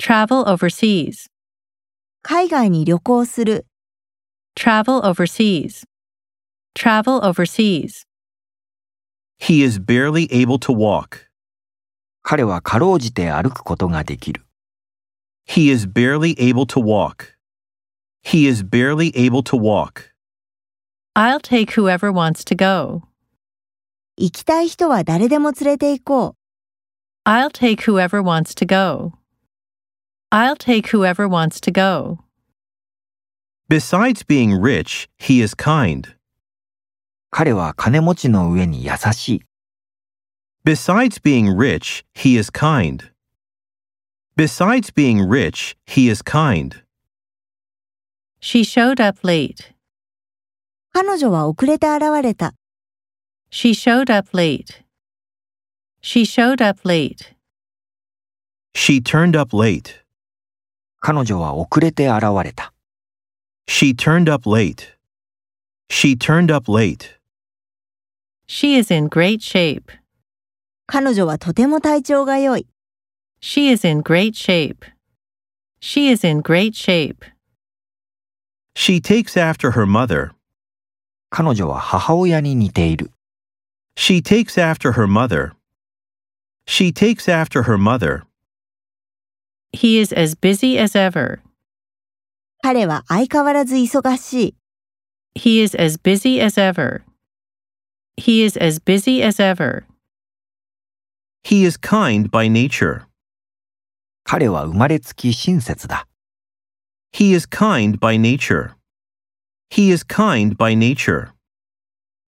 Travel overseas. 海外に旅行する。 Travel overseas. Travel overseas. He is barely able to walk. 彼はかろうじて歩くことができる。 He is barely able to walk. He is barely able to walk. I'll take whoever wants to go. 行きたい人は誰でも連れて行こう。 I'll take whoever wants to go. I'll take whoever wants to go. Besides being rich, he is kind. 彼は金持ちの上に優しい。 Besides being rich, he is kind. Besides being rich, he is kind. She showed up late. 彼女は遅れて現れた。 She showed up late. She showed up late. She turned up late. 彼女は遅れて現れた。 She turned up late. She turned up late. She is in great shape. 彼女はとても体調が良い。 She is in great shape. She is in great shape. She takes after her mother. 彼女は母親に似ている。 She takes after her mother. She takes after her mother. He is as busy as ever. 彼は相変わらず忙しい。 He is as busy as ever. He is as busy as ever. He is kind by nature. 彼は生まれつき親切だ。 He is kind by nature. He is kind by nature.